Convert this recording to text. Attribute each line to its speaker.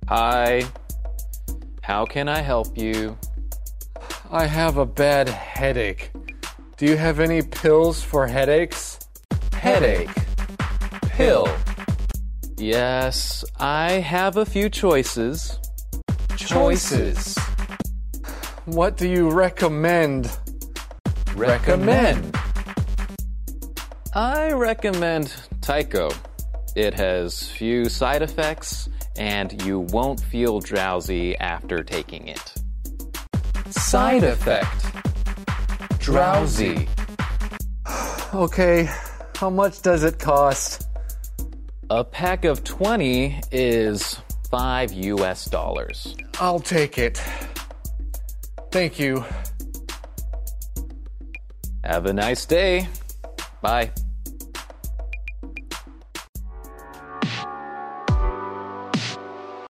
Speaker 1: Hi. How can I help you?
Speaker 2: I have a bad headache. Do you have any pills for headaches?
Speaker 1: Headache. Pill. Yes, I have a few choices. Choices.
Speaker 2: What do you recommend?
Speaker 1: Recommend. I recommend Tyco. It has few side effects, and you won't feel drowsy after taking it. Side effect. Drowsy.
Speaker 2: Okay, how much does it cost?
Speaker 1: A pack of 20 is $5.
Speaker 2: I'll take it. Thank you.
Speaker 1: Have a nice day. Bye.